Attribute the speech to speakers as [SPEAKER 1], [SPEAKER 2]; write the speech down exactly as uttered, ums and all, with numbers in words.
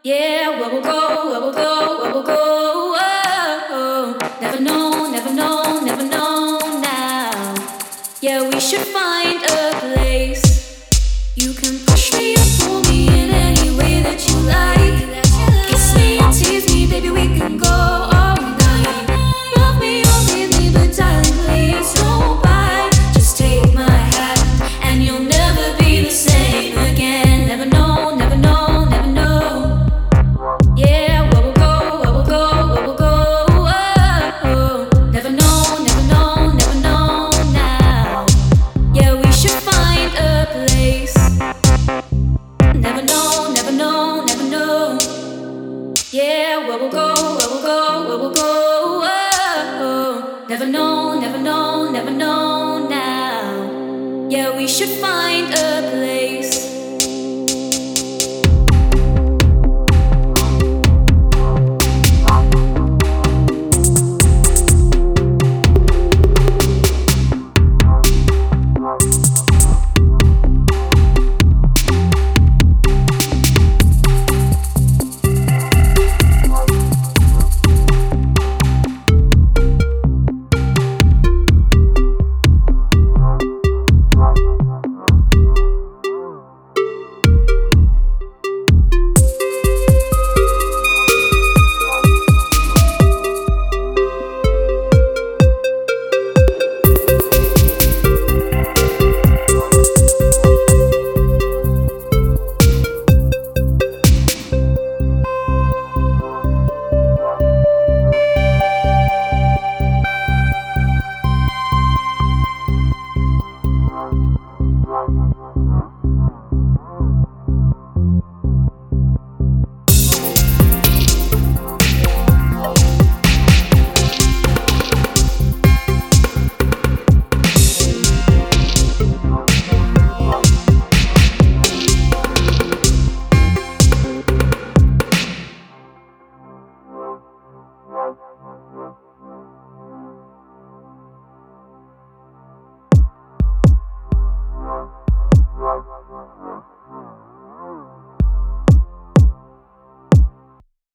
[SPEAKER 1] Yeah, where we'll go, where we'll go, where we'll go. Oh, never know, never know, never know now. Yeah, we should find a place. You can push me or pull me in any way that you like. Kiss me and tease me, baby, we can go all night. Love me or leave me, but darling, please don't bite. Just take my hand and you'll never be the same again. Never know, never know, never know. Yeah, where we'll go, where we'll go, where we'll go. Oh, never know, never know, never know now. Yeah, we should find a place. Never know, never know, never know. Yeah, where we'll go, where we'll go, where we'll go. Oh, never know, never know, never know now. Yeah, we should find a place.
[SPEAKER 2] Wow.